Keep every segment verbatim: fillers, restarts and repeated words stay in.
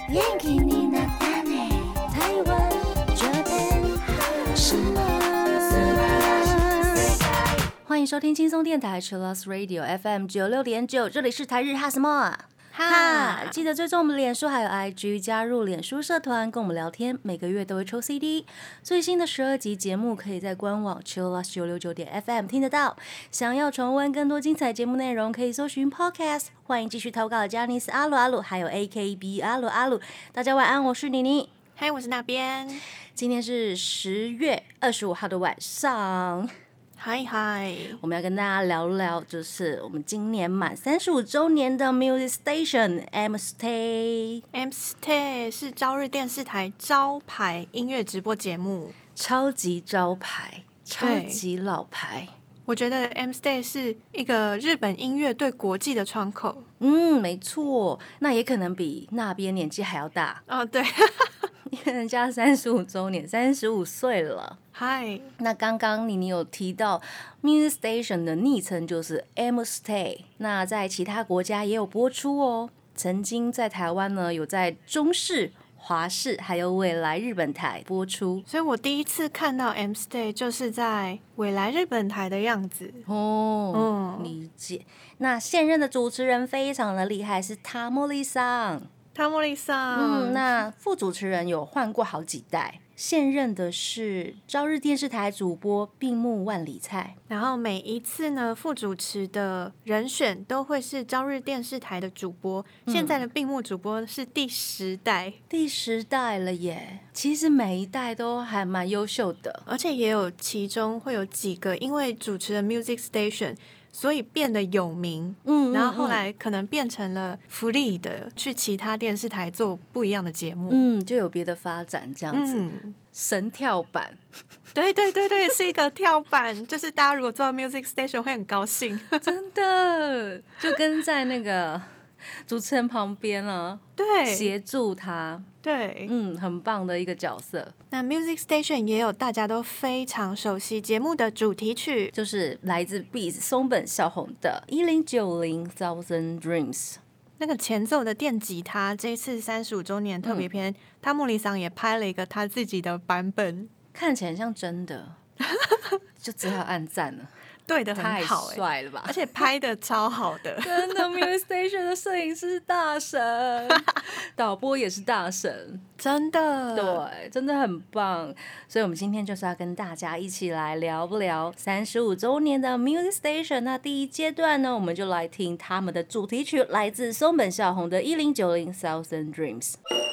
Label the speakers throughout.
Speaker 1: 元気になったね台湾这边什么欢迎收听轻松电台 Chillus Radio F M 九六点九，这里是台日哈什么哈，记得追踪我们脸书还有 I G， 加入脸书社团跟我们聊天，每个月都会抽 C D。最新的十二集节目可以在官网 Chillus 九六九点 F M 听得到。想要重温更多精彩节目内容，可以搜寻 Podcast。欢迎继续投稿的 Janice 阿鲁阿鲁，还有 A K B 阿鲁阿鲁。大家晚安，我是妮妮。
Speaker 2: 嗨，我是那边。
Speaker 1: 今天是十月二十五号的晚上。
Speaker 2: 嗨嗨，
Speaker 1: 我们要跟大家聊聊，就是我们今年满三十五周年的 Music Station M Stay。
Speaker 2: M Stay 是朝日电视台招牌音乐直播节目，
Speaker 1: 超级招牌，超级老牌。
Speaker 2: 我觉得 M Stay 是一个日本音乐对国际的窗口。
Speaker 1: 嗯，没错，那也可能比那边年纪还要大
Speaker 2: 哦，对，
Speaker 1: 因为人家三十五周年，三十五岁了。
Speaker 2: 嗨，
Speaker 1: 那刚刚你你有提到 Music Station 的昵称就是 M Stay， 那在其他国家也有播出哦。曾经在台湾呢，有在中视、华视还有未来日本台播出，
Speaker 2: 所以我第一次看到 M Stay 就是在未来日本台的样子
Speaker 1: 哦。嗯，理解。那现任的主持人非常的厉害，是塔莫利桑。
Speaker 2: 塔莫利桑，
Speaker 1: 嗯，那副主持人有换过好几代。现任的是朝日电视台主播并木万里菜，
Speaker 2: 然后每一次呢，副主持的人选都会是朝日电视台的主播。嗯、现在的并木主播是第十代，
Speaker 1: 第十代了耶！其实每一代都还蛮优秀的，
Speaker 2: 而且也有其中会有几个因为主持了 Music Station，所以变得有名，嗯，然后后来可能变成了福利的，去其他电视台做不一样的节目，
Speaker 1: 嗯，就有别的发展这样子。嗯、神跳板，
Speaker 2: 对对对对，是一个跳板，就是大家如果做到 Music Station 会很高兴，
Speaker 1: 真的，就跟在那个主持人旁边啊，
Speaker 2: 对，
Speaker 1: 协助他。
Speaker 2: 对，
Speaker 1: 嗯，很棒的一个角色。
Speaker 2: 那 Music Station 也有大家都非常熟悉节目的主题曲，
Speaker 1: 就是来自 Beats 松本孝宏的一零九零 Thousand Dreams。
Speaker 2: 那个前奏的电吉他，这一次三十五周年特别篇，塔莫利桑也拍了一个他自己的版本，
Speaker 1: 看起来像真的，就只好按赞了。
Speaker 2: 对的很好、
Speaker 1: 欸，太帅了吧！
Speaker 2: 而且拍的超好的，
Speaker 1: 真的 Music Station 的摄影师是大神，导播也是大神，
Speaker 2: 真的，
Speaker 1: 对，真的很棒。所以我们今天就是要跟大家一起来聊不聊三十五周年的 Music Station。那第一阶段呢，我们就来听他们的主题曲，来自松本孝宏的一零九零 Thousand Dreams。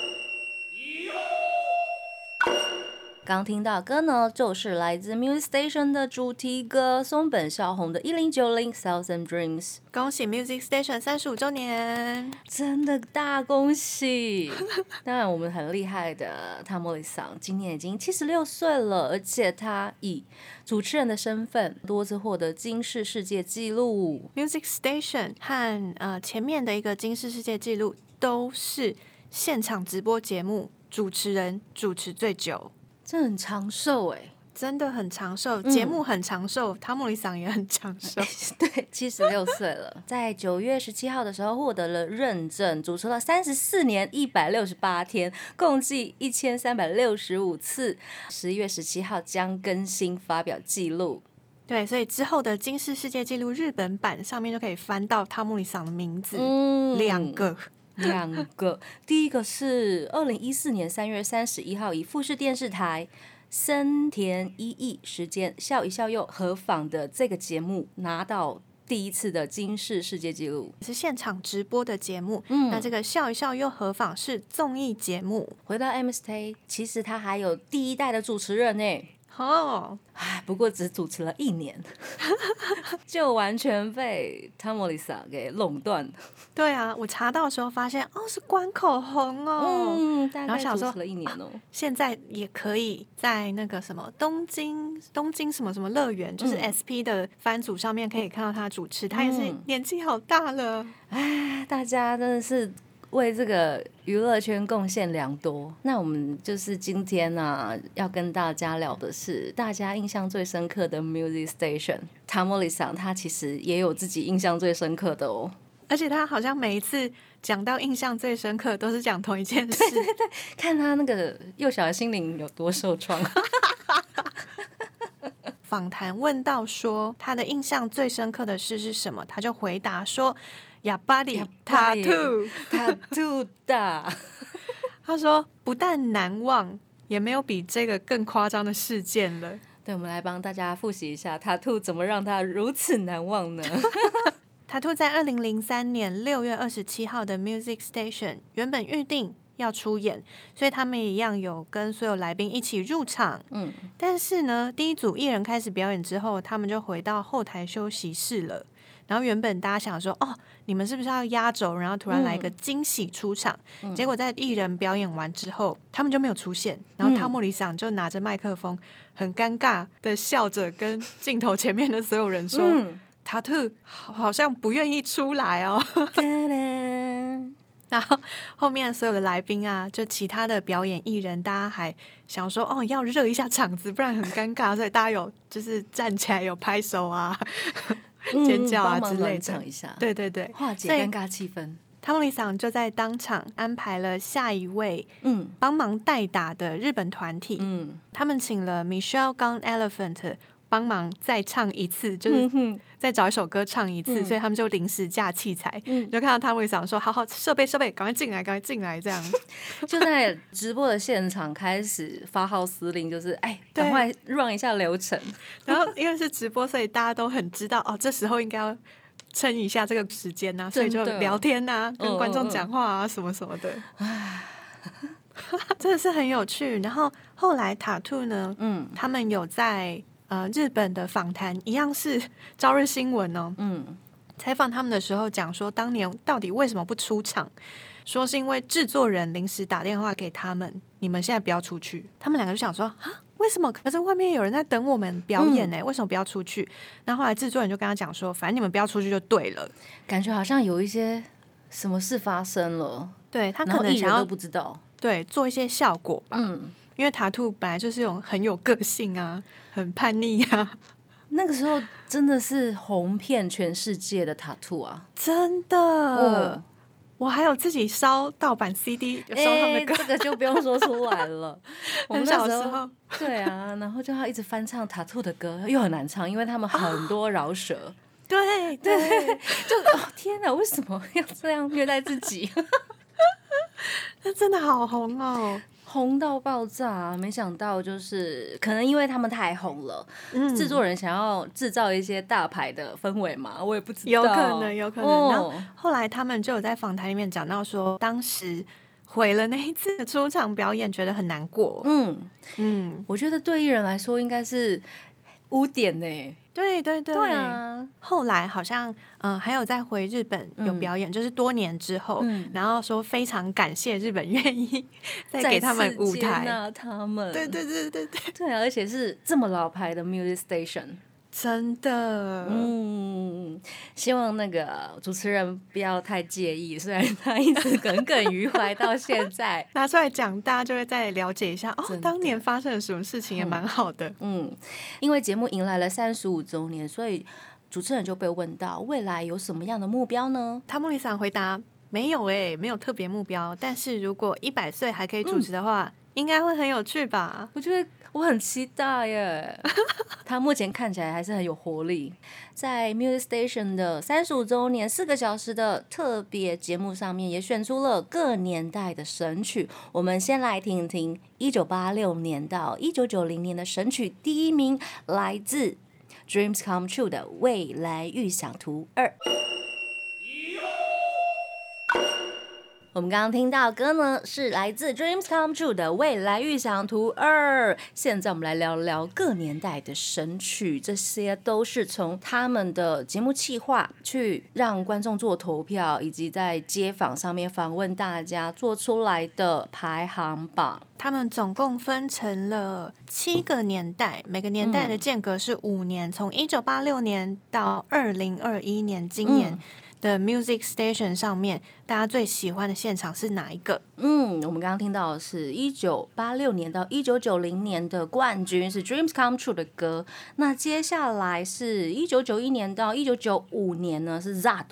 Speaker 1: 刚听到歌呢，就是来自 Music Station 的主题歌松本孝宏的一零九零 Thousand Dreams。
Speaker 2: 恭喜 Music Station 三十五周年，
Speaker 1: 真的大恭喜！当然我们很厉害的塔莫利桑今年已经七十六岁了，而且他以主持人的身份多次获得金氏世界纪录。
Speaker 2: Music Station 和、呃、前面的一个金氏世界纪录都是现场直播节目主持人主持最久，
Speaker 1: 这很长寿哎，
Speaker 2: 真的很长寿，节、嗯、目很长寿，塔莫利桑也很长寿。
Speaker 1: 对，七十六岁了，在九月十七号的时候获得了认证，主持了三十四年一百六十八天，共计一千三百六十五次。十一月十七号将更新发表记录。
Speaker 2: 对，所以之后的金氏世界纪录日本版上面就可以翻到塔莫利桑的名字，
Speaker 1: 嗯，
Speaker 2: 两个。
Speaker 1: 两个，第一个是二零一四年三月三十一号以富士电视台森田一义时间笑一笑又合访的这个节目拿到第一次的金氏世界纪录，
Speaker 2: 是现场直播的节目、嗯、那这个笑一笑又合访是综艺节目。
Speaker 1: 回到 M Stay， 其实他还有第一代的主持人耶，
Speaker 2: 哦，
Speaker 1: 不过只主持了一年就完全被塔莫利桑给垄断。
Speaker 2: 对啊，我查到的时候发现哦是关口红哦，
Speaker 1: 嗯，大概主持了一年哦、
Speaker 2: 啊、现在也可以在那个什么东京东京什么什么乐园、嗯、就是 S P 的番组上面可以看到他主持、嗯、他也是年纪好大了，
Speaker 1: 哎，大家真的是为这个娱乐圈贡献良多。那我们就是今天啊，要跟大家聊的是大家印象最深刻的 Music Station。塔莫利桑他其实也有自己印象最深刻的哦。
Speaker 2: 而且他好像每一次讲到印象最深刻都是讲同一件事。
Speaker 1: 对对对，看他那个幼小的心灵有多受创。
Speaker 2: 访谈问到说他的印象最深刻的事是什么，他就回答说哑巴里 tattoo
Speaker 1: tattoo 的。
Speaker 2: 他说不但难忘，也没有比这个更夸张的事件了。
Speaker 1: 对，我们来帮大家复习一下 tattoo 怎么让他如此难忘呢？
Speaker 2: tattoo 在二零零三年六月二十七号的 Music Station 原本预定要出演，所以他们也一样有跟所有来宾一起入场。嗯，但是呢，第一组艺人开始表演之后，他们就回到后台休息室了。然后原本大家想说，哦，你们是不是要压轴，然后突然来一个惊喜出场？嗯、结果在艺人表演完之后，他们就没有出现。然后汤莫里桑就拿着麦克风，很尴尬的笑着跟镜头前面的所有人说。嗯tattoo 好像不愿意出来哦。然后后面所有的来宾啊，就其他的表演艺人，大家还想说哦，要热一下场子，不然很尴尬，所以大家有就是站起来有拍手啊、尖叫啊之类的，
Speaker 1: 唱一下，
Speaker 2: 对对对，
Speaker 1: 化解尴尬气氛。
Speaker 2: 汤莫里桑就在当场安排了下一位嗯帮忙代打的日本团体，嗯，他们请了 Michelle Gun Elephant。帮忙再唱一次，就是再找一首歌唱一次，嗯、所以他们就临时架器材，嗯、就看到汤莫里桑说：“好好，设备设备，赶快进来，赶快进来！”这样
Speaker 1: 就在直播的现场开始发号施令，就是哎，赶快 run 一下流程。
Speaker 2: 然后因为是直播，所以大家都很知道哦，这时候应该要撑一下这个时间呐、啊，所以就聊天呐、啊，跟观众讲话啊，什么什么的。唉真的是很有趣。然后后来 tattoo 呢，嗯，他们有在。呃，日本的访谈一样是朝日新闻哦，嗯，采访他们的时候讲说，当年到底为什么不出场？说是因为制作人临时打电话给他们，你们现在不要出去。他们两个就想说，啊，为什么？可是外面有人在等我们表演呢、欸，嗯、为什么不要出去？那后来制作人就跟他讲说，反正你们不要出去就对了。
Speaker 1: 感觉好像有一些什么事发生了，
Speaker 2: 对他可能想要
Speaker 1: 都不知道，
Speaker 2: 对，做一些效果吧，嗯。因为tattoo本来就是有很有个性啊，很叛逆啊。
Speaker 1: 那个时候真的是红遍全世界的tattoo啊，
Speaker 2: 真的。哦、我还有自己烧盗版 C D， 有烧他们的歌、
Speaker 1: 欸，这个就不用说出来了。我们
Speaker 2: 小时候，
Speaker 1: 对啊，然后就要一直翻唱tattoo的歌，又很难唱，因为他们很多饶舌。哦、
Speaker 2: 对对，
Speaker 1: 就哦天哪，为什么要这样虐待自己？
Speaker 2: 那真的好红哦。
Speaker 1: 红到爆炸，没想到就是可能因为他们太红了，嗯、制作人想要制造一些大牌的氛围嘛，我也不知道，
Speaker 2: 有可能，有可能。哦、然后后来他们就有在访谈里面讲到说，当时毁了那一次的出场表演，觉得很难过。嗯
Speaker 1: 嗯，我觉得对艺人来说应该是污点呢、欸。
Speaker 2: 对对对，
Speaker 1: 对啊！
Speaker 2: 后来好像嗯、呃，还有再回日本有表演，嗯、就是多年之后，嗯、然后说非常感谢日本愿意再给他们舞台，
Speaker 1: 那他们，
Speaker 2: 对对对对对，
Speaker 1: 对啊！而且是这么老牌的 Music Station。
Speaker 2: 真的，
Speaker 1: 嗯，希望那个主持人不要太介意，虽然他一直耿耿于怀到现在，
Speaker 2: 拿出来讲，大家就会再了解一下哦，当年发生了什么事情，也蛮好的。
Speaker 1: 嗯，因为节目迎来了三十五周年，所以主持人就被问到未来有什么样的目标呢？
Speaker 2: 汤莫里桑回答没有诶、欸，没有特别目标，但是如果一百岁还可以主持的话，嗯、应该会很有趣吧？
Speaker 1: 我觉得我很期待耶。他目前看起来还是很有活力。在 Music Station 的三十五周年四个小时的特别节目上面，也选出了各年代的神曲。我们先来听听一九八六年到一九九零年的神曲，第一名来自 Dreams Come True 的《未来预想图二》。我们刚刚听到的歌呢，是来自 Dreams Come True 的《未来预想图二》。现在我们来聊聊各年代的神曲，这些都是从他们的节目企划去让观众做投票，以及在街访上面访问大家做出来的排行榜。
Speaker 2: 他们总共分成了七个年代，每个年代的间隔是五年，从一九八六年到二零二一年，今年。嗯的 Music Station 上面，大家最喜欢的现场是哪一个？
Speaker 1: 嗯，我们刚刚听到的是一九八六年到一九九零年的冠军是 Dreams Come True 的歌。那接下来是一九九一年到一九九五年呢是 Zado。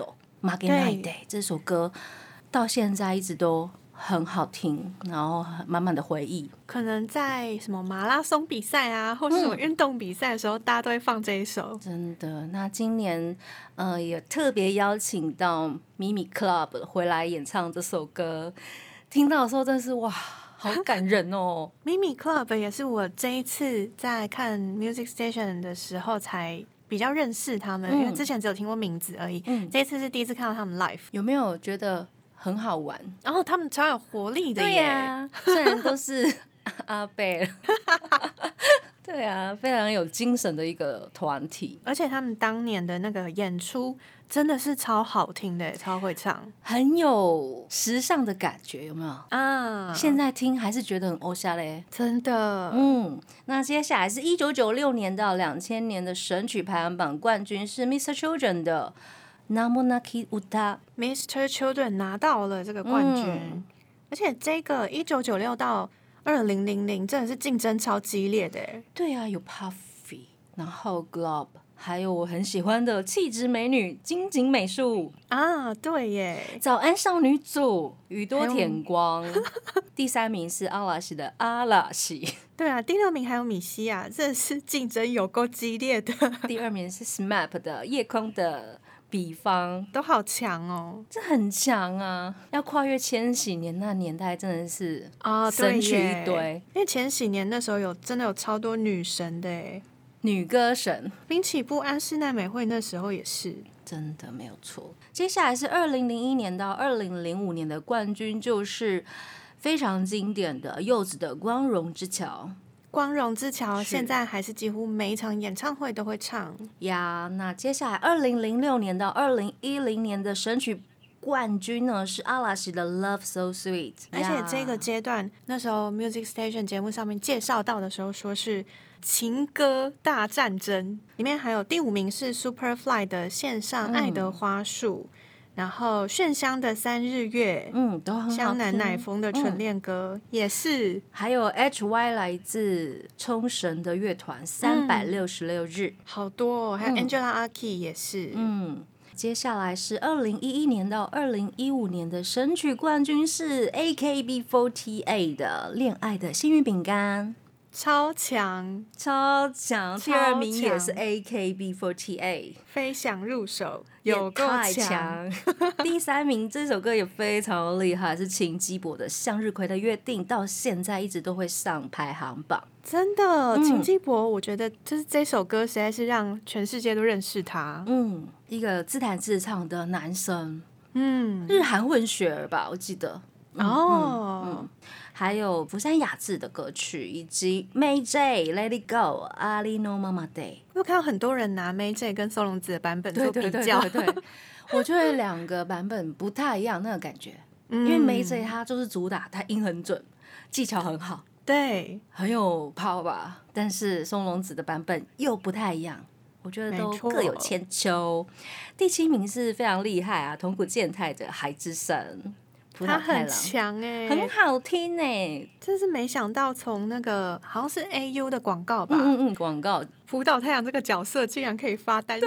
Speaker 1: Magenai Day 这首歌到现在一直都很好听，然后满满的回忆。
Speaker 2: 可能在什么马拉松比赛啊，或是什么运动比赛的时候，嗯、大家都会放这一首。
Speaker 1: 真的，那今年呃也特别邀请到咪咪 Club 回来演唱这首歌，听到的时候真的是哇，好感人哦。
Speaker 2: 咪咪 Club 也是我这一次在看 Music Station 的时候才比较认识他们，嗯、因为之前只有听过名字而已。嗯、这一次是第一次看到他们 live，
Speaker 1: 有没有觉得很好玩？
Speaker 2: 然后他们超有活力的耶！
Speaker 1: 对啊，虽然都是阿贝，对啊，非常有精神的一个团体。
Speaker 2: 而且他们当年的那个演出真的是超好听的，超会唱，
Speaker 1: 很有时尚的感觉，有没有啊？现在听还是觉得很欧夏嘞，
Speaker 2: 真的。
Speaker 1: 嗯，那接下来是一九九六年到两千年的神曲排行榜冠军是 Mister Children 的。Namonaki Uta
Speaker 2: Mister Children 拿到了这个冠军，嗯、而且这个一九九六到二零零零真的是竞争超激烈的。
Speaker 1: 对啊，有 Puffy， 然后 Globe， 还有我很喜欢的气质美女金井美术
Speaker 2: 啊，对耶，
Speaker 1: 早安少女组宇多田光，第三名是阿拉西的阿拉西。
Speaker 2: 对啊，第六名还有米西啊，这是竞争有够激烈的。
Speaker 1: 第二名是 S M A P 的夜空的比方，
Speaker 2: 都好强哦，
Speaker 1: 这很强啊！要跨越千禧年那年代，真的是啊，神曲一堆。
Speaker 2: 哦、因为千禧年那时候有真的有超多女神的耶，
Speaker 1: 女歌神，
Speaker 2: 滨崎步、安室奈美惠那时候也是，
Speaker 1: 真的没有错。接下来是二零零一年到二零零五年的冠军，就是非常经典的柚子的《光荣之桥》。
Speaker 2: 光荣之桥现在还是几乎每一场演唱会都会唱
Speaker 1: 呀。那接下来二零零六年到二零一零年的神曲冠军呢是阿拉西的 Love So Sweet，
Speaker 2: 而且这个阶段那时候 Music Station 节目上面介绍到的时候说是情歌大战争，里面还有第五名是 Superfly 的线上爱的花束、嗯然后炫香的三日月，
Speaker 1: 嗯，都很好听。
Speaker 2: 香南乃风的纯恋歌、嗯、也是，
Speaker 1: 还有 H Y 来自冲绳的乐团三百六十六日、嗯，
Speaker 2: 好多、哦，还有 Angela Aki 也是，
Speaker 1: 嗯。接下来是二零一一年到二零一五年的神曲冠军是 A K B 四十八 的《恋爱的幸运饼干》。
Speaker 2: 超强
Speaker 1: 超强，第二名也是 A K B 四十八，
Speaker 2: 飞翔入手有够强。
Speaker 1: 第三名这首歌也非常厉害，是秦基博的《向日葵的约定》，到现在一直都会上排行榜。
Speaker 2: 真的，秦基博，我觉得就是这首歌实在是让全世界都认识他。
Speaker 1: 嗯，一个自弹自唱的男生，嗯，日韩混血儿吧，我记得。哦。嗯嗯还有福山雅治的歌曲，以及 May J Let It Go Ali no Mama Day。
Speaker 2: 我看到很多人拿 May J 跟松隆子的版本做比较，
Speaker 1: 对对对对对我觉得两个版本不太一样那个感觉，嗯、因为 May J 他就是主打他音很准，技巧很好，
Speaker 2: 对，
Speaker 1: 很有 power 吧。但是松隆子的版本又不太一样，我觉得都各有千秋。第七名是非常厉害啊，桐谷健太的《海之声》。
Speaker 2: 他很强哎、
Speaker 1: 欸，很好听哎、欸，
Speaker 2: 真是没想到从那个好像是 A U 的广告吧，
Speaker 1: 嗯嗯嗯，广告
Speaker 2: 福岛太阳这个角色竟然可以发单曲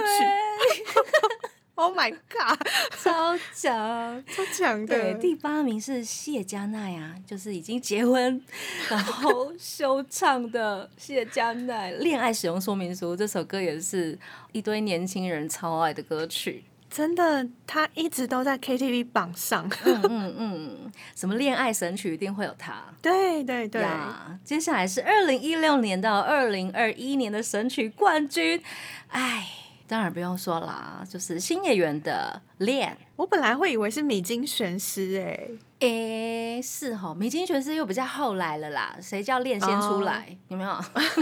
Speaker 2: ，Oh my god，
Speaker 1: 超强，
Speaker 2: 超强的。
Speaker 1: 对，第八名是谢嘉奈啊，就是已经结婚然后休唱的谢嘉奈，《恋爱使用说明书》这首歌也是一堆年轻人超爱的歌曲。
Speaker 2: 真的，他一直都在 K T V 榜上。
Speaker 1: 嗯嗯嗯，什么恋爱神曲一定会有他。
Speaker 2: 对对对。
Speaker 1: 接下来是二零一六年到二零二一年的神曲冠军，哎，当然不用说啦，就是新演员的《恋》。
Speaker 2: 我本来会以为是米津玄师哎、
Speaker 1: 欸，哎是齁，米津玄师又比较后来了啦，谁叫恋先出来？ Oh. 有没有？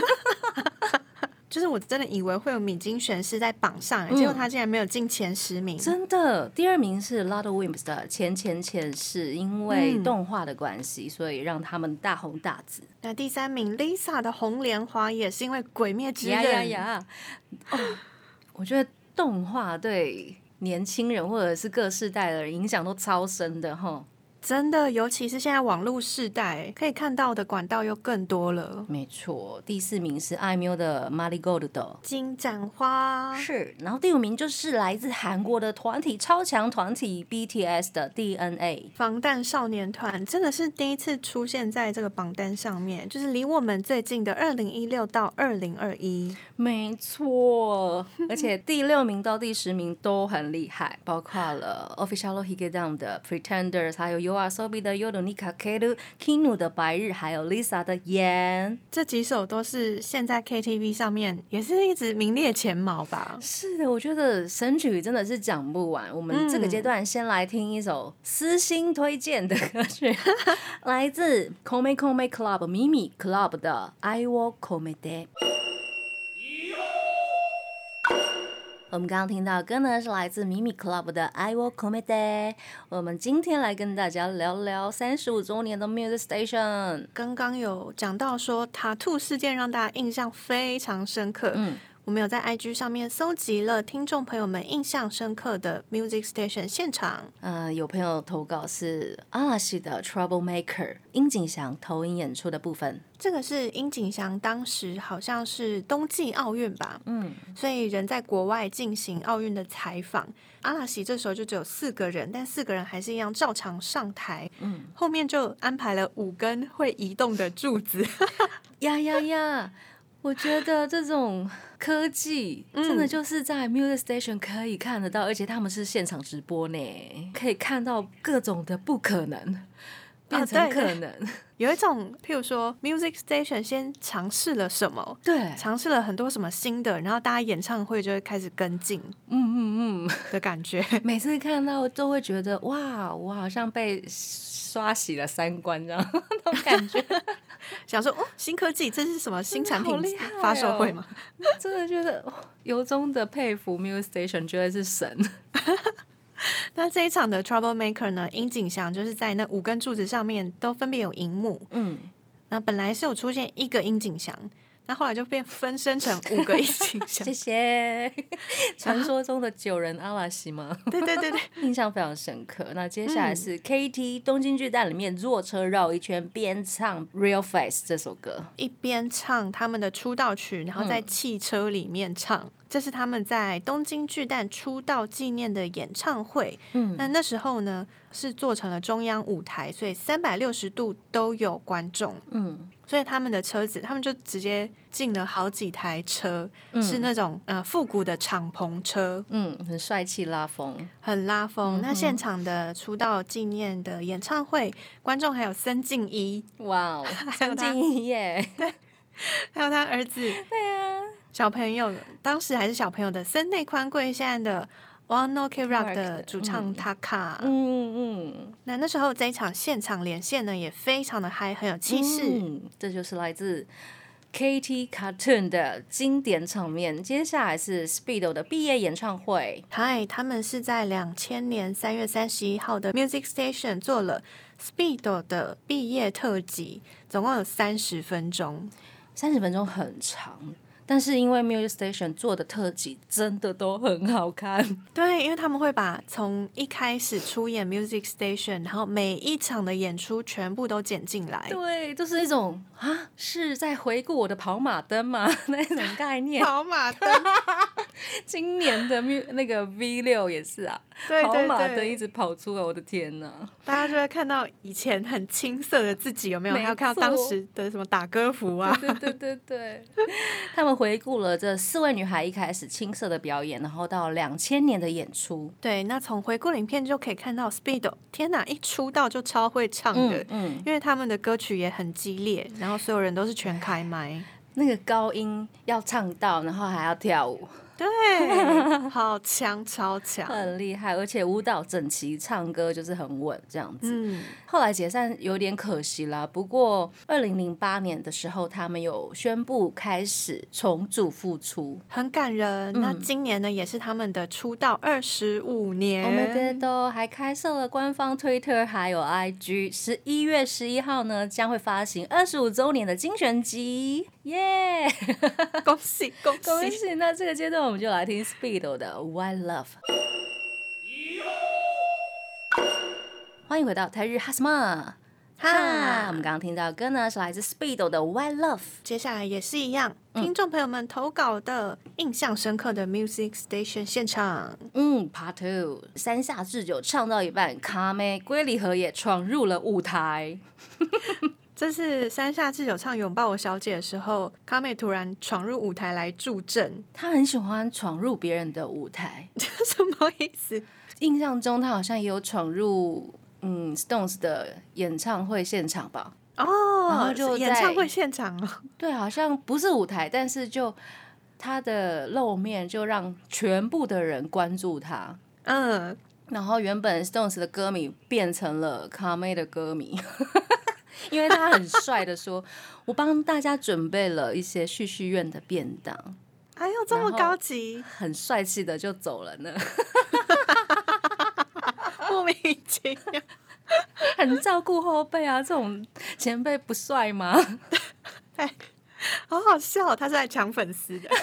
Speaker 2: 就是我真的以为会有米津玄师在榜上、嗯、结果他竟然没有进前十名。
Speaker 1: 真的，第二名是 Ludwig 的《前前前世》，因为动画的关系、嗯、所以让他们大红大紫。
Speaker 2: 那第三名 Lisa 的《红莲华》也是因为《鬼灭之刃》
Speaker 1: 呀呀呀、哦、我觉得动画对年轻人或者是各世代的人影响都超深的齁。
Speaker 2: 真的，尤其是现在网络世代，可以看到的管道又更多了。
Speaker 1: 没错，第四名是 I M U 的 Marigold 的
Speaker 2: 金盏花，
Speaker 1: 是，然后第五名就是来自韩国的团体超强团体 B T S 的 D N A
Speaker 2: 防弹少年团，真的是第一次出现在这个榜单上面，就是离我们最近的二零一六到二零二一。
Speaker 1: 没错，而且第六名到第十名都很厉害，包括了 Official Higedan 的 Pretenders， 还有 YOASOBI 的 Yoru ni Kakeru、Kinu 的白日，还有 Lisa 的炎，
Speaker 2: 这几首都是现在 K T V 上面也是一直名列前茅吧。
Speaker 1: 是的，我觉得神曲真的是讲不完。我们这个阶段先来听一首私心推荐的歌曲，来自 Kome Kome Club Mimi Club 的 I Wo Komede。我们刚刚听到的歌呢，是来自 Mimi Club 的 I Wo Komede。我们今天来跟大家聊聊三十五周年的 Music Station。
Speaker 2: 刚刚有讲到说 Tattoo 事件让大家印象非常深刻，嗯，我们有在 I G 上面搜集了听众朋友们印象深刻的 Music Station 现场。
Speaker 1: 呃，有朋友投稿是阿拉西的 Troublemaker 樱井翔投影演出的部分。
Speaker 2: 这个是樱井翔当时好像是冬季奥运吧，嗯，所以人在国外进行奥运的采访。阿拉西这时候就只有四个人，但四个人还是一样照常上台，嗯，后面就安排了五根会移动的柱子。
Speaker 1: 呀呀呀！我觉得这种科技真的就是在 Music Station 可以看得到，而且他们是现场直播呢，可以看到各种的不可能变成可能。
Speaker 2: 啊、有一种譬如说 Music Station 先尝试了什么，
Speaker 1: 对，
Speaker 2: 尝试了很多什么新的，然后大家演唱会就会开始跟进，嗯嗯嗯的感觉。
Speaker 1: 每次看到都会觉得哇，我好像被刷洗了三观这样那种感觉。
Speaker 2: 想说哦，新科技，这是什么新产品发售会吗？
Speaker 1: 真的觉得、哦、由衷的佩服 Music Station， 觉得是神。
Speaker 2: 那这一场的 Troublemaker 呢，樱井翔就是在那五根柱子上面都分别有荧幕，嗯，那本来是有出现一个樱井翔，那后来就变分身成五个樱井翔。
Speaker 1: 谢谢。传说中的九人阿拉西吗？
Speaker 2: 对对对对，
Speaker 1: 印象非常深刻。那接下来是 K T 东京巨蛋里面坐车绕一圈边唱 Real Face 这首歌，
Speaker 2: 一边唱他们的出道曲，然后在汽车里面唱。嗯，这是他们在东京巨蛋出道纪念的演唱会。嗯，那那时候呢是做成了中央舞台，所以三百六十度都有观众。嗯，所以他们的车子，他们就直接进了好几台车，嗯、是那种呃复古的敞篷车。
Speaker 1: 嗯，很帅气，拉风，
Speaker 2: 很拉风。嗯、那现场的出道纪念的演唱会，观众还有森敬一，
Speaker 1: 哇哦，森敬一耶，
Speaker 2: 对，还有他儿子，
Speaker 1: 对啊。
Speaker 2: 小朋友，当时还是小朋友的森内宽贵，现在的 One Ok Rock 的主唱 Taka， 嗯嗯嗯，那那时候这一场现场连线呢，也非常的嗨，很有气势。
Speaker 1: 嗯，这就是来自 K T Cartoon 的经典场面。接下来是 Speedo 的毕业演唱会。
Speaker 2: 嗨，他们是在两千年三月三十一号的 Music Station 做了 Speedo 的毕业特辑，总共有三十分钟，
Speaker 1: 三十分钟很长。但是因为 Music Station 做的特辑真的都很好看，
Speaker 2: 对，因为他们会把从一开始出演 Music Station， 然后每一场的演出全部都剪进来，
Speaker 1: 对，就是一种啊是在回顾我的跑马灯嘛那种概念。
Speaker 2: 跑马灯，
Speaker 1: 今年的那个 V 六也是啊，
Speaker 2: 对对对，
Speaker 1: 跑马灯一直跑出来，我的天哪！
Speaker 2: 大家就会看到以前很青涩的自己，有没有？还有看到当时的什么打歌服啊？
Speaker 1: 对对对对，他们回顾了这四位女孩一开始青涩的表演，然后到两千年的演出。
Speaker 2: 对，那从回顾影片就可以看到 Speedo， 天哪，一出道就超会唱的，嗯嗯，因为他们的歌曲也很激烈，然后所有人都是全开麦，
Speaker 1: 那个高音要唱到，然后还要跳舞。
Speaker 2: 对，好强，超强，
Speaker 1: 很厉害，而且舞蹈整齐，唱歌就是很稳这样子。嗯，后来解散有点可惜啦，不过二零零八年的时候，他们有宣布开始重组复出，
Speaker 2: 很感人。嗯、那今年呢，也是他们的出道二十五年。
Speaker 1: Oh my god！ 还开设了官方 Twitter 还有 I G， 十一月十一号呢将会发行二十五周年的精选集，耶、yeah!
Speaker 2: 恭喜恭喜
Speaker 1: 恭喜！那这个阶段我们就来听 Speedo 的 Why Love。 欢迎回到台日哈什么哈。我们刚刚听到的歌呢是来自 Speedo 的 White Love，
Speaker 2: 接下来也是一样，嗯、听众朋友们投稿的印象深刻的 Music Station 现场。
Speaker 1: 嗯 Part Two， 山下智久唱到一半，卡妹龟梨和也闯入了舞台。
Speaker 2: 这是山下智久唱《拥抱我小姐》的时候，卡妹突然闯入舞台来助阵。
Speaker 1: 她很喜欢闯入别人的舞台，
Speaker 2: 这什么意思？
Speaker 1: 印象中她好像也有闯入嗯 Stones 的演唱会现场吧？
Speaker 2: 哦，
Speaker 1: 然后就
Speaker 2: 演唱会现场哦。
Speaker 1: 对，好像不是舞台，但是就她的露面就让全部的人关注她。
Speaker 2: 嗯，
Speaker 1: 然后原本 Stones 的歌迷变成了卡妹的歌迷。因为他很帅的说，我帮大家准备了一些旭旭苑的便当。
Speaker 2: 哎呦，这么高级，
Speaker 1: 很帅气的就走了呢。
Speaker 2: 莫名其妙。
Speaker 1: 很照顾后辈啊，这种前辈不帅吗？
Speaker 2: 哎，好好笑，他是来抢粉丝的。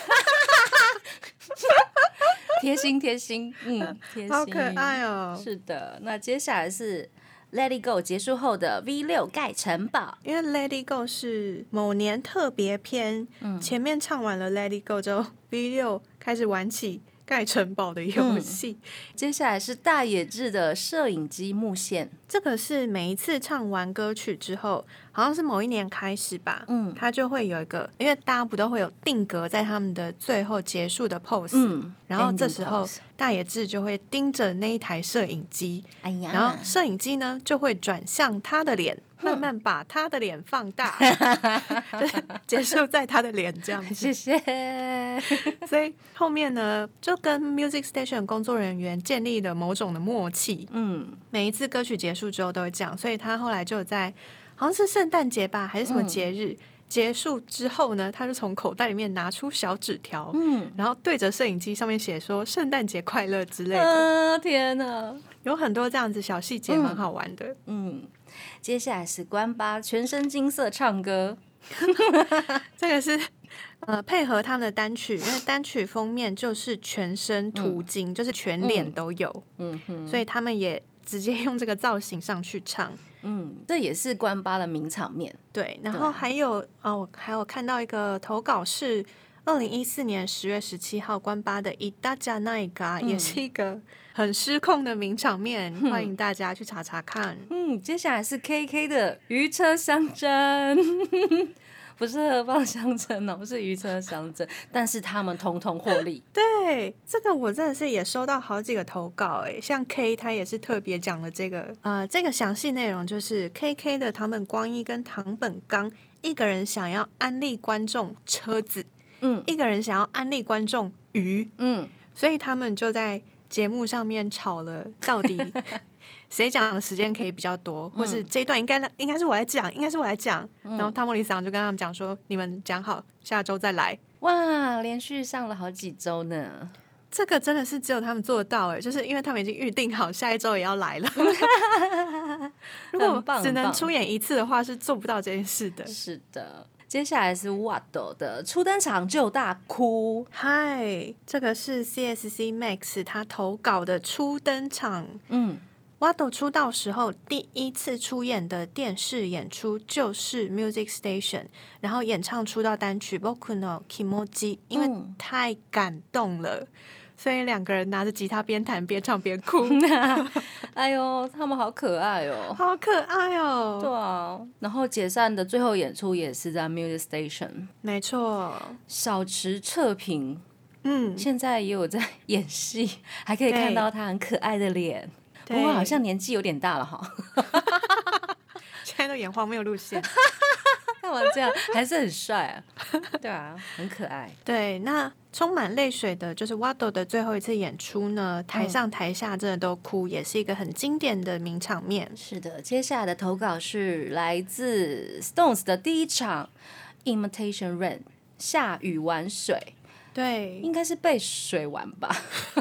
Speaker 1: 贴心贴心，嗯，贴心，
Speaker 2: 好可爱哦。
Speaker 1: 是的，那接下来是Let It Go 结束后的 V 六 盖城堡，
Speaker 2: 因为 Let It Go 是某年特别篇，嗯、前面唱完了 Let It Go 之后 ，V 六 开始玩起盖城堡的游戏、嗯。
Speaker 1: 接下来是大野智的摄影机幕线，
Speaker 2: 这个是每一次唱完歌曲之后，好像是某一年开始吧，嗯，他就会有一个，因为大家不都会有定格在他们的最后结束的 pose，嗯，然后这时候大野智就会盯着那一台摄影机，哎呀，然后摄影机呢就会转向他的脸。慢慢把他的脸放大，就是结束在他的脸这样子。
Speaker 1: 谢谢。
Speaker 2: 所以后面呢，就跟 Music Station 工作人员建立了某种的默契。嗯，每一次歌曲结束之后都会这样，所以他后来就在好像是圣诞节吧，还是什么节日、嗯、结束之后呢，他就从口袋里面拿出小纸条，嗯，然后对着摄影机上面写说圣诞节快乐之类的。
Speaker 1: 啊，天哪，
Speaker 2: 有很多这样子小细节，蛮好玩的。
Speaker 1: 嗯。嗯，接下来是关八全身金色唱歌，
Speaker 2: 这个是呃配合他们的单曲，因为单曲封面就是全身涂金、嗯，就是全脸都有，嗯哼，所以他们也直接用这个造型上去唱，
Speaker 1: 嗯，这也是关八的名场面。
Speaker 2: 对，然后还有哦，我还有看到一个投稿是二零一四年十月十七号关八的《伊达加奈嘎》，也是一个很失控的名场面，嗯、欢迎大家去查查看。
Speaker 1: 嗯，接下来是 K K 的渔车相争，不是河蚌相争哦，是渔车相争，但是他们统统获利。
Speaker 2: 对，这个我真的是也收到好几个投稿哎，像 K 他也是特别讲了这个呃这个详细内容，就是 K K 的堂本光一跟堂本刚一个人想要安利观众车子。嗯，一个人想要安利观众鱼，嗯，所以他们就在节目上面吵了，到底谁讲的时间可以比较多，或是这一段应该应该是我来讲，应该是我来讲，嗯、然后汤莫里桑就跟他们讲说，你们讲好，下周再来。
Speaker 1: 哇，连续上了好几周呢，
Speaker 2: 这个真的是只有他们做得到哎，就是因为他们已经预定好下一周也要来了。如果只能出演一次的话，是做不到这件事的。
Speaker 1: 是的。接下来是 Wado 的初登场就大哭。
Speaker 2: 嗨，这个是 C S C Max 他投稿的初登场。嗯 Wado 出道时候第一次出演的电视演出就是 Music Station， 然后演唱出道单曲 Boku no Kimoji， 因为太感动了。嗯，所以两个人拿着吉他边弹边唱边哭。
Speaker 1: 哎呦，他们好可爱哦，
Speaker 2: 好可爱哦。
Speaker 1: 对啊，然后解散的最后演出也是在 Music Station。
Speaker 2: 没错，
Speaker 1: 小池彻平，嗯，现在也有在演戏，还可以看到他很可爱的脸。不过好像年纪有点大了哈。
Speaker 2: 现在都演荒谬路线。
Speaker 1: 干嘛这样？还是很帅啊。对啊，很可爱。对，
Speaker 2: 那充满泪水的就是 Wado 的最后一次演出呢，台上台下真的都哭，嗯、也是一个很经典的名场面。
Speaker 1: 是的，接下来的投稿是来自 Stones 的第一场 Imitation Rain 下雨玩水。
Speaker 2: 对，
Speaker 1: 应该是被水玩吧。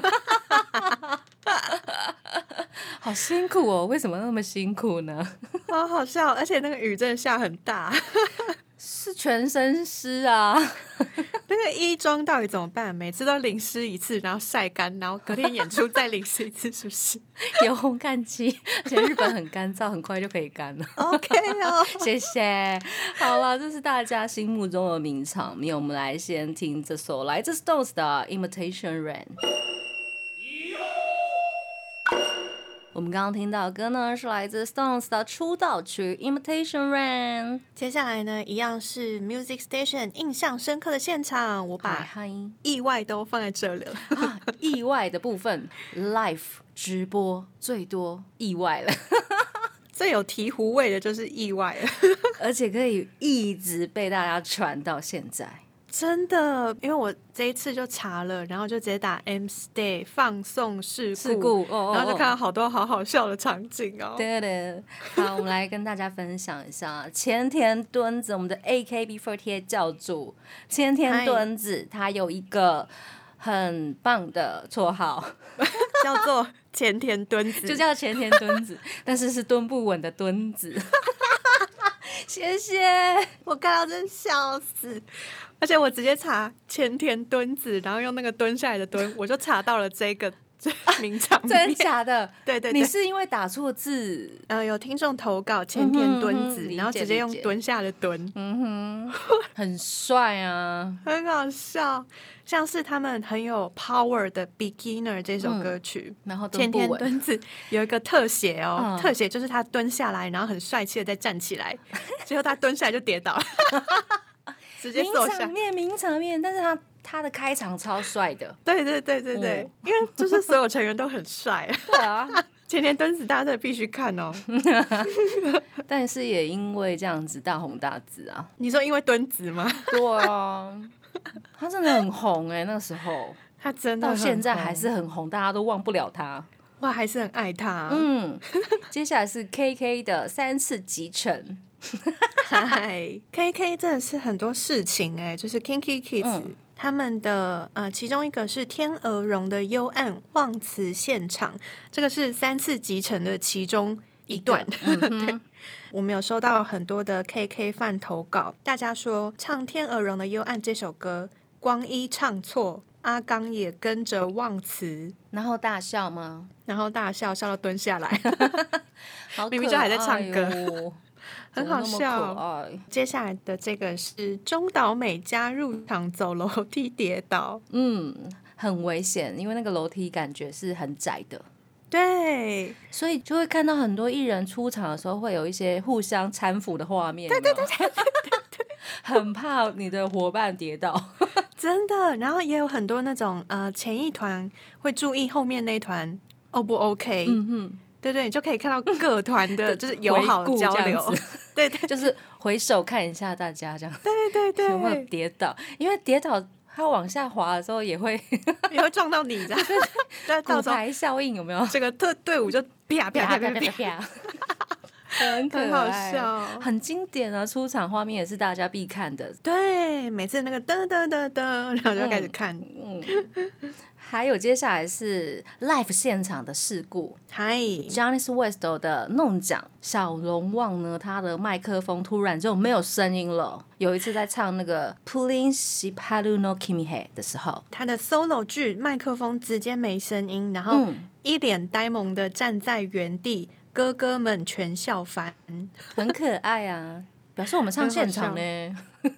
Speaker 1: 好辛苦哦，为什么那么辛苦呢？
Speaker 2: 好好笑，而且那个雨真的下很大。
Speaker 1: 是全身湿啊。
Speaker 2: 那个衣装到底怎么办？每次都淋湿一次，然后晒干，然后隔天演出再淋湿一次，是不是？
Speaker 1: 有烘干机，而且日本很干燥，很快就可以干了。
Speaker 2: OK 哦，
Speaker 1: 谢谢。好了，这是大家心目中的名场面，我们来先听这首来自 Stones 的 Imitation Rain。我们刚刚听到的歌呢，是来自 Stones 的出道曲 Imitation Rain。
Speaker 2: 接下来呢，一样是 Music Station 印象深刻的现场，我把意外都放在这里了。
Speaker 1: 啊、意外的部分 ，Live 直播最多意外了。
Speaker 2: 最有醍醐味的就是意外了，
Speaker 1: 而且可以一直被大家传到现在。
Speaker 2: 真的，因为我这一次就查了，然后就直接打 M Stay 放送事故，
Speaker 1: 事故哦哦
Speaker 2: 然后就看到好多好好笑的场景哦。
Speaker 1: 对对，好，我们来跟大家分享一下前田敦子，我们的 A K B 四十八 教主前田敦子，他有一个很棒的绰号，
Speaker 2: 叫做前田敦子，
Speaker 1: 就叫前田敦子，但是是蹲不稳的敦子。谢谢，
Speaker 2: 我看到真笑死。而且我直接查前田敦子，然后用那个蹲下来的蹲，我就查到了这个名场面。
Speaker 1: 真的假的？
Speaker 2: 对对对，
Speaker 1: 你是因为打错字？
Speaker 2: 呃，有听众投稿前田敦子，
Speaker 1: 嗯、
Speaker 2: 然后直接用蹲下的蹲，
Speaker 1: 嗯哼，很帅啊，
Speaker 2: 很好笑。像是他们很有 power 的 Beginner 这首歌曲，
Speaker 1: 嗯、然后
Speaker 2: 前田敦子有一个特写哦，
Speaker 1: 嗯、
Speaker 2: 特写就是他蹲下来，然后很帅气的再站起来，结果他蹲下来就跌倒了。直接坐下，
Speaker 1: 名场面，名场面，但是他他的开场超帅的，
Speaker 2: 对对对对对，嗯、因为就是所有成员都很帅，
Speaker 1: 对啊，
Speaker 2: 前田敦子大家真的必须看哦，
Speaker 1: 但是也因为这样子大红大紫啊。
Speaker 2: 你说因为敦子吗？
Speaker 1: 对啊，他真的很红哎、欸，那时候
Speaker 2: 他真的
Speaker 1: 到现在还是很红，大家都忘不了他。
Speaker 2: 哇，还是很爱他。
Speaker 1: 嗯，接下来是 K K 的三次集成。
Speaker 2: 嗨 ，K K 真的是很多事情哎、欸，就是 Kinky Kids、嗯、他们的呃，其中一个是天鹅绒的幽暗忘词现场，这个是三次集成的其中一段。一对，我们有收到很多的 K K 饭投稿，大家说唱天鹅绒的幽暗这首歌，光一唱错，阿刚也跟着忘词，
Speaker 1: 然后大笑吗？
Speaker 2: 然后大笑笑到蹲下来，
Speaker 1: 好可爱哦、
Speaker 2: 明明就还在唱歌。很好笑。接下来的这个是中岛美嘉入场走楼梯跌倒，
Speaker 1: 嗯，很危险，因为那个楼梯感觉是很窄的。
Speaker 2: 对，
Speaker 1: 所以就会看到很多艺人出场的时候会有一些互相搀扶的画面。
Speaker 2: 对对对对对对，
Speaker 1: 很怕你的伙伴跌倒。
Speaker 2: 真的，然后也有很多那种呃前一团会注意后面那一团 O 不 OK。
Speaker 1: 嗯哼。
Speaker 2: 对对，你就可以看到各团的就是友好的交流，对对，
Speaker 1: 就是回首看一下大家这样，
Speaker 2: 对对对，
Speaker 1: 有没有跌倒？因为跌倒它往下滑的时候也会
Speaker 2: 也会撞到你，这样，
Speaker 1: 对，骨牌效应有没有？
Speaker 2: 这个队队伍就啪啪啪啪啪啪，
Speaker 1: 很可爱，
Speaker 2: 很好笑，
Speaker 1: 很经典啊！出场画面也是大家必看的，
Speaker 2: 对，每次那个噔噔噔噔，然后就开始看，
Speaker 1: 嗯。嗯还有接下来是 live 现场的事故，
Speaker 2: 嗨
Speaker 1: Johnny West 的弄奖，小龙旺呢，他的麦克风突然就没有声音了。有一次在唱那个 Pulling Shiparu no Kimi 的时候，
Speaker 2: 他的 solo 剧麦克风直接没声音，然后一脸呆萌的站在原地，哥哥们全笑翻，
Speaker 1: 很可爱啊，表示我们唱现场呢。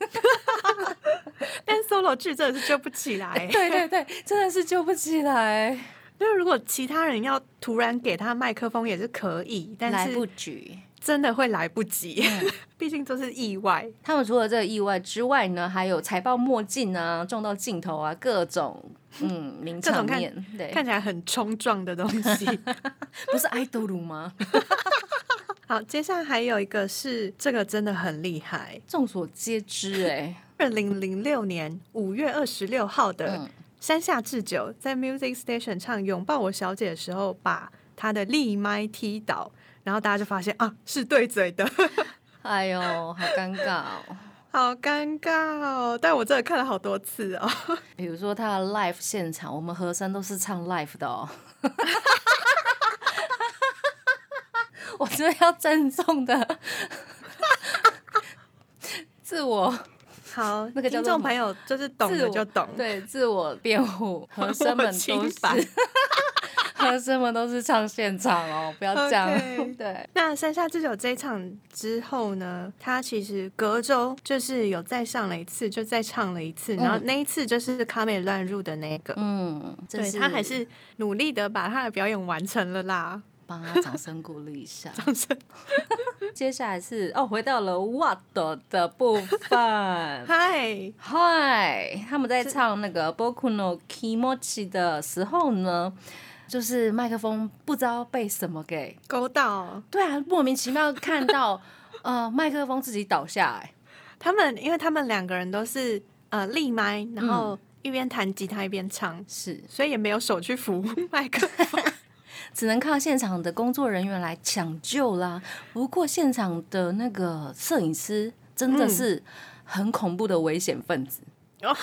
Speaker 2: 但 solo 剧真的是救不起来，
Speaker 1: 对对对，真的是救不起来。
Speaker 2: 因为如果其他人要突然给他麦克风也是可以，但是
Speaker 1: 来不及，
Speaker 2: 真的会来不及，嗯、毕竟这是意外。
Speaker 1: 他们除了这个意外之外呢，还有踩爆墨镜啊、撞到镜头啊，各种嗯名场面，
Speaker 2: 看
Speaker 1: 对，
Speaker 2: 看起来很冲撞的东西，
Speaker 1: 不是爱豆鲁吗？
Speaker 2: 好，接下来还有一个是这个真的很厉害，
Speaker 1: 众所皆知哎、欸，
Speaker 2: 二零零六年五月二十六号的。嗯山下智久在 Music Station 唱《拥抱我小姐》的时候，把他的立麦踢倒，然后大家就发现啊，是对嘴的。
Speaker 1: 哎呦，好尴尬哦，
Speaker 2: 好尴尬哦！但我真的看了好多次哦。
Speaker 1: 比如说他的 live 现场，我们和声都是唱 live 的哦。我真的要郑重的自我
Speaker 2: 好，
Speaker 1: 那个叫做
Speaker 2: 听众朋友就是懂了就懂，
Speaker 1: 对，自我辩护，和声们都是和声们都是唱现场哦，不要这样。Okay. 对，
Speaker 2: 那山下智久这一场之后呢，他其实隔周就是有再上了一次，就再唱了一次，嗯、然后那一次就是卡美乱入的那个，嗯，对他还是努力的把他的表演完成了啦。
Speaker 1: 帮他掌声鼓励一下，掌声。接下来是哦，回到了 What 的部分。
Speaker 2: 嗨
Speaker 1: 嗨，他们在唱那个 Boku no Kimochi 的时候呢，就是麦克风不知道被什么给
Speaker 2: 勾到。
Speaker 1: 对啊，莫名其妙看到呃麦克风自己倒下来。
Speaker 2: 他们因为他们两个人都是呃立麦，然后一边弹吉他一边唱，
Speaker 1: 是、嗯，
Speaker 2: 所以也没有手去扶麦克风。
Speaker 1: 只能靠现场的工作人员来抢救啦。不过现场的那个摄影师真的是很恐怖的危险分子，嗯、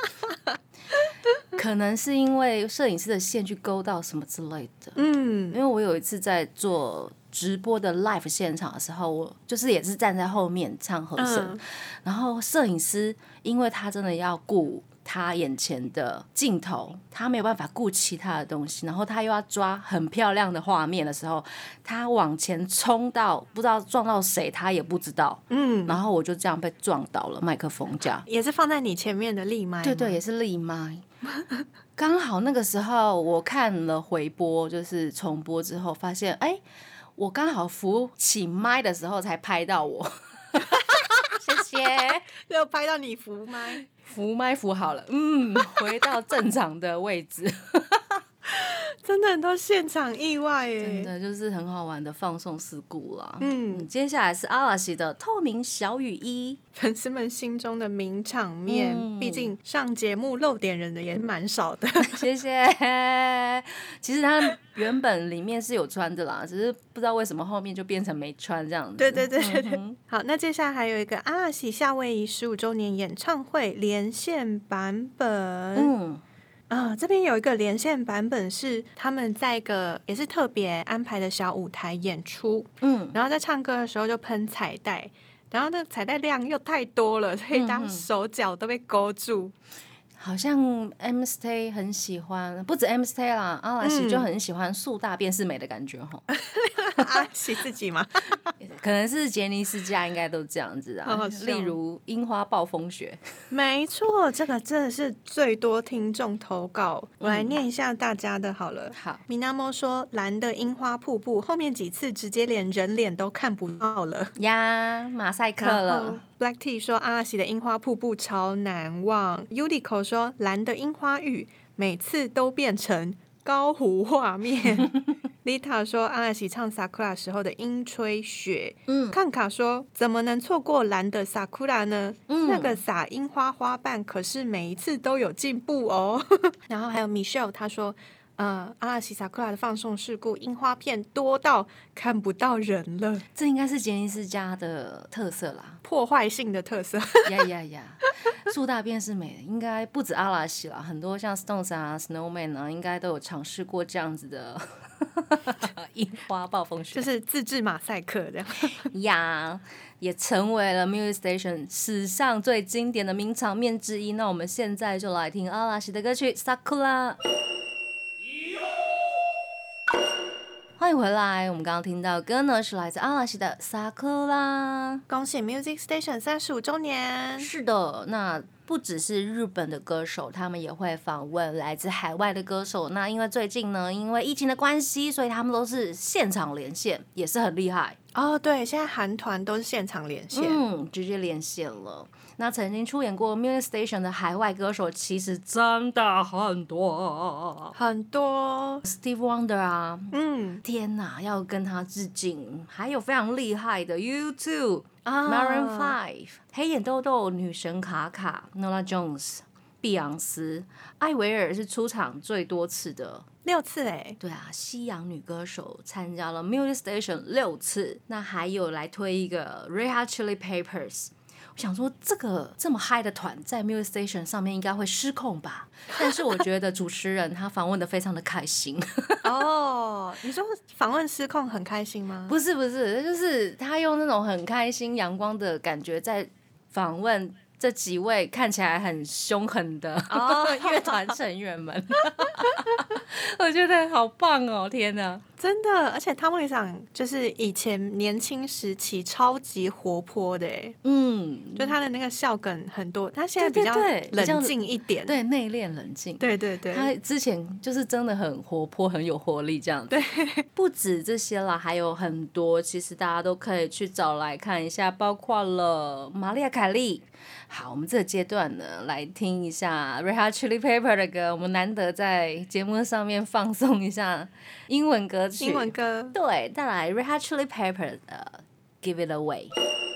Speaker 1: 可能是因为摄影师的线去勾到什么之类的。嗯，因为我有一次在做直播的 live 现场的时候，我就是也是站在后面唱和声，嗯、然后摄影师因为他真的要顾他眼前的镜头，他没有办法顾其他的东西，然后他又要抓很漂亮的画面的时候，他往前冲到不知道撞到谁他也不知道，嗯，然后我就这样被撞倒了麦克风架，
Speaker 2: 也是放在你前面的立麦，
Speaker 1: 对对，也是立麦。刚好那个时候我看了回播，就是重播之后发现，哎，我刚好扶起麦的时候才拍到我。谢谢，
Speaker 2: 就拍到你扶麦，
Speaker 1: 扶麦扶好了，嗯，回到正常的位置。
Speaker 2: 真的很多现场意外耶，
Speaker 1: 真的就是很好玩的放送事故啦。嗯，接下来是阿拉西的透明小雨衣，
Speaker 2: 粉丝们心中的名场面，嗯、毕竟上节目露点人的也蛮少的。
Speaker 1: 谢谢。其实他原本里面是有穿的啦，只是不知道为什么后面就变成没穿这样子。
Speaker 2: 对对对对对。嗯、好，那接下来还有一个阿拉西夏威夷十五周年演唱会连线版本。嗯。啊，这边有一个连线版本是他们在一个也是特别安排的小舞台演出，嗯，然后在唱歌的时候就喷彩带，然后那个彩带量又太多了，所以大家手脚都被勾住。
Speaker 1: 好像 M Stay 很喜欢，不止 M Stay 啦，阿拉西就很喜欢树大便是美的感觉哈。
Speaker 2: 阿拉西自己吗？
Speaker 1: 可能是杰尼斯家应该都这样子啊。例如樱花暴风雪。
Speaker 2: 没错，这个真的是最多听众投稿，我来念一下大家的好了。
Speaker 1: 好，
Speaker 2: 米纳莫说蓝的樱花瀑布后面几次直接连人脸都看不到了
Speaker 1: 呀，马赛克了。
Speaker 2: Black T 说阿拉西的樱花瀑布超难忘。Udiko 说蓝的樱花雨每次都变成高湖画面。Lita 说阿拉西唱 Sakura 时候的樱吹雪。嗯，看卡说怎么能错过蓝的 Sakura 呢？嗯、那个撒樱花花瓣可是每一次都有进步哦。然后还有 Michelle 他说呃，阿拉西萨库拉的放送事故，樱花片多到看不到人了。
Speaker 1: 这应该是杰尼斯家的特色啦，
Speaker 2: 破坏性的特色。
Speaker 1: 呀呀呀！树大便是美的，应该不止阿拉西啦，很多像 Stones 啊、Snowman 啊，应该都有尝试过这样子的樱花暴风雪，
Speaker 2: 就是自制马赛克这样。
Speaker 1: 呀，也成为了 Music Station 史上最经典的名场面之一。那我们现在就来听阿拉西的歌曲《Sakura》。欢迎回来，我们刚刚听到的歌呢是来自阿拉西的 Sakura，
Speaker 2: 恭喜 Music Station 三十五周年。
Speaker 1: 是的，那不只是日本的歌手，他们也会访问来自海外的歌手。那因为最近呢，因为疫情的关系，所以他们都是现场连线，也是很厉害
Speaker 2: 哦。对，现在韩团都是现场连线，
Speaker 1: 嗯，直接连线了。那曾经出演过 Music Station 的海外歌手其实真的很多
Speaker 2: 很多
Speaker 1: ，Steve Wonder 啊，嗯，天哪，要跟他致敬。还有非常厉害的 U two、Maroon Five、黑眼豆豆女神卡卡、Norah Jones、碧昂斯、艾薇儿是出场最多次的。
Speaker 2: 六次哎，
Speaker 1: 对啊，西洋女歌手参加了 Music Station 六次。那还有来推一个 Red Hot Chili Peppers。我想说这个这么嗨的团在 Music Station 上面应该会失控吧，但是我觉得主持人他访问的非常的开心。
Speaker 2: 哦，你说访问失控很开心吗？
Speaker 1: 不是不是，就是他用那种很开心阳光的感觉在访问这几位看起来很凶狠的乐团成员们，我觉得好棒哦！天哪，
Speaker 2: 真的，而且汤姆里桑就是以前年轻时期超级活泼的哎，嗯，就他的那个笑梗很多，他现在比较冷静一点，
Speaker 1: 对，内敛冷静，
Speaker 2: 对对对，
Speaker 1: 他之前就是真的很活泼，很有活力这样子。
Speaker 2: 对，
Speaker 1: 不止这些啦，还有很多，其实大家都可以去找来看一下，包括了玛丽亚凯莉。好，我们这个阶段呢，来听一下 Red Hot Chili Pepper 的歌，我们难得在节目上面放送一下英文歌曲，
Speaker 2: 英文歌，
Speaker 1: 对，再来 Red Hot Chili Pepper 的 Give It Away。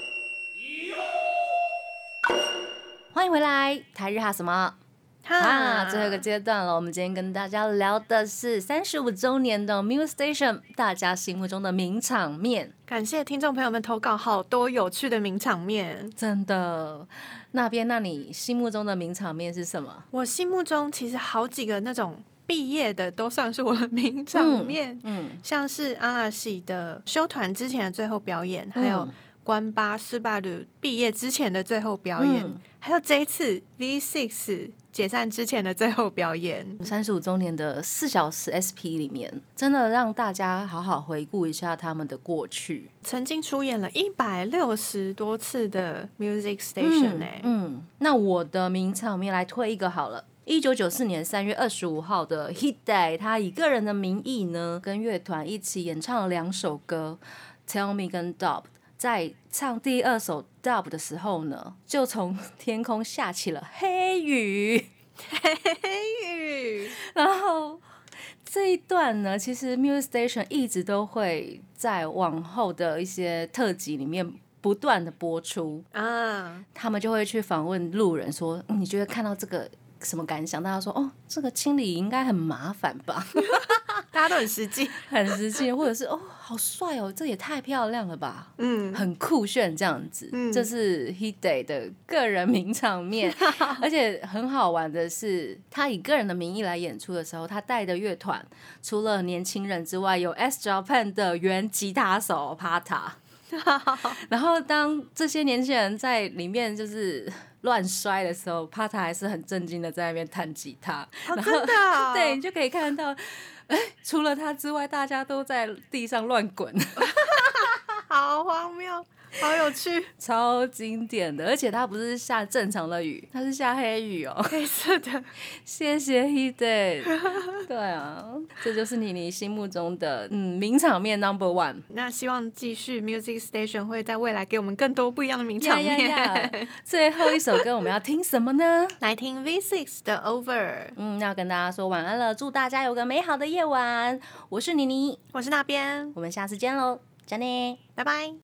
Speaker 1: 欢迎回来，台日哈什么？啊，最后一个阶段了，我们今天跟大家聊的是三十五周年的 Music Station， 大家心目中的名场面。
Speaker 2: 感谢听众朋友们投稿好多有趣的名场面，
Speaker 1: 真的。那边，那你心目中的名场面是什么？
Speaker 2: 我心目中其实好几个那种毕业的都算是我的名场面，嗯，嗯像是阿拉西的休团之前的最后表演，嗯、还有关八斯巴鲁毕业之前的最后表演，嗯、还有这一次 V 六 解散之前的最后表演，
Speaker 1: 三十五周年的四小时 S P 里面，真的让大家好好回顾一下他们的过去。
Speaker 2: 曾经出演了一百六十多次的 Music Station 哎、欸
Speaker 1: 嗯，嗯，那我的名场面来推一个好了。一九九四年三月二十五号的 Hit Day， 他以个人的名义呢，跟乐团一起演唱了两首歌 Tell Me 跟 Dub。在唱第二首 Dub 的时候呢，就从天空下起了黑雨，
Speaker 2: 黑雨。
Speaker 1: 然后这一段呢，其实 Music Station 一直都会在往后的一些特辑里面不断的播出啊，他们就会去访问路人说，嗯、你觉得看到这个什么感想？大家说，哦，这个清理应该很麻烦吧？
Speaker 2: 大家都很实际，
Speaker 1: 很实际，或者是哦，好帅哦，这也太漂亮了吧，嗯，很酷炫这样子。嗯，这是 Hit Day 的个人名场面，而且很好玩的是，他以个人的名义来演出的时候，他带的乐团除了年轻人之外，有 S Japan 的原吉他手 Pata。然后当这些年轻人在里面就是乱摔的时候，帕塔还是很震惊的在那边弹吉他。
Speaker 2: 哦、真的、哦？
Speaker 1: 对，你就可以看到，除了他之外，大家都在地上乱滚，
Speaker 2: 好荒谬。好有趣，
Speaker 1: 超经典的，而且它不是下正常的雨，它是下黑雨哦，
Speaker 2: 黑色的。
Speaker 1: 谢谢 Hit Day。对啊，这就是你你心目中的嗯名场面 number one。
Speaker 2: 那希望继续 Music Station 会在未来给我们更多不一样的名场面。
Speaker 1: Yeah, yeah, yeah. 最后一首歌我们要听什么呢？
Speaker 2: 来听 V 六 的 Over。
Speaker 1: 嗯，要跟大家说晚安了，祝大家有个美好的夜晚。我是妮妮，
Speaker 2: 我是那边，
Speaker 1: 我们下次见喽，再见，
Speaker 2: 拜拜。